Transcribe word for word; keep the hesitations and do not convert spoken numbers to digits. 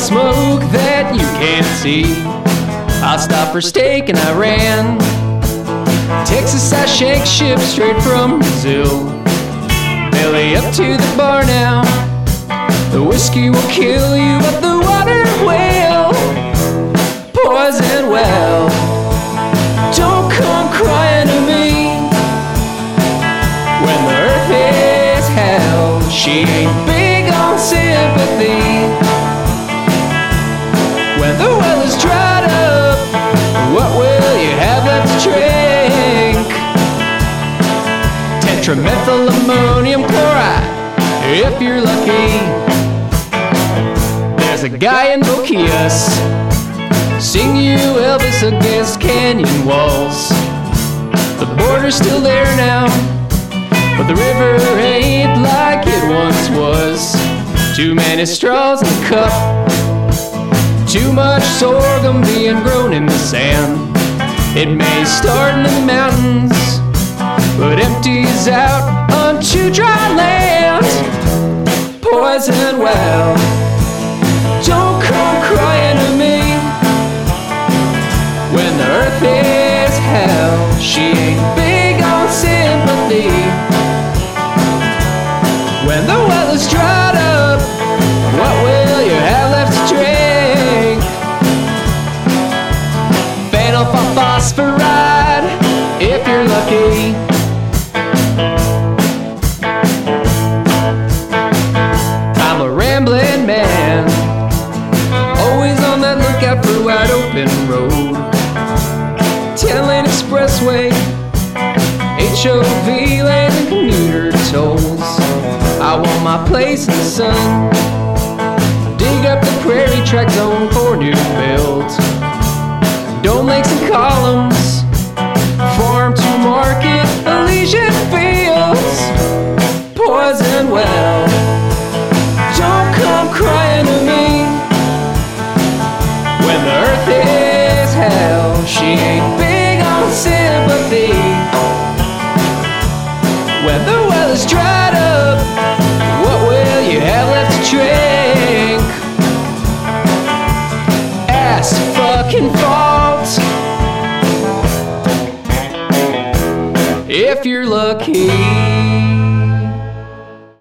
smoke that you can't see. I stopped for steak and I ran. Texas, I shake ship straight from Brazil. Belly up to the bar now. The whiskey will kill you, but the water will poison well. Don't come crying to me when the earth is hell. She ain't big on sympathy. When the well is dried up, what will you have left to drink? Tetramethyl ammonium chloride, if you're lucky. There's a guy in Boquillas, sing you Elvis against canyon walls. The border's still there now, but the river ain't like it once was. Too many straws in the cup, too much sorghum being grown in the sand. It may start in the mountains, but empties out onto dry land. Poison well, don't come crying to me when the earth is hell. She ain't big on sympathy. When the well is dried up, what will you have left to drink? Phenylphosphoride, if you're lucky. I'm a rambling man, always on that lookout for a wide open road. Ten-lane expressway, H O V lane and commuter tolls. I want my place in the sun, dig up the prairie track zone for new builds. Dome lakes and columns, farm to market, Elysian fields. Poison well,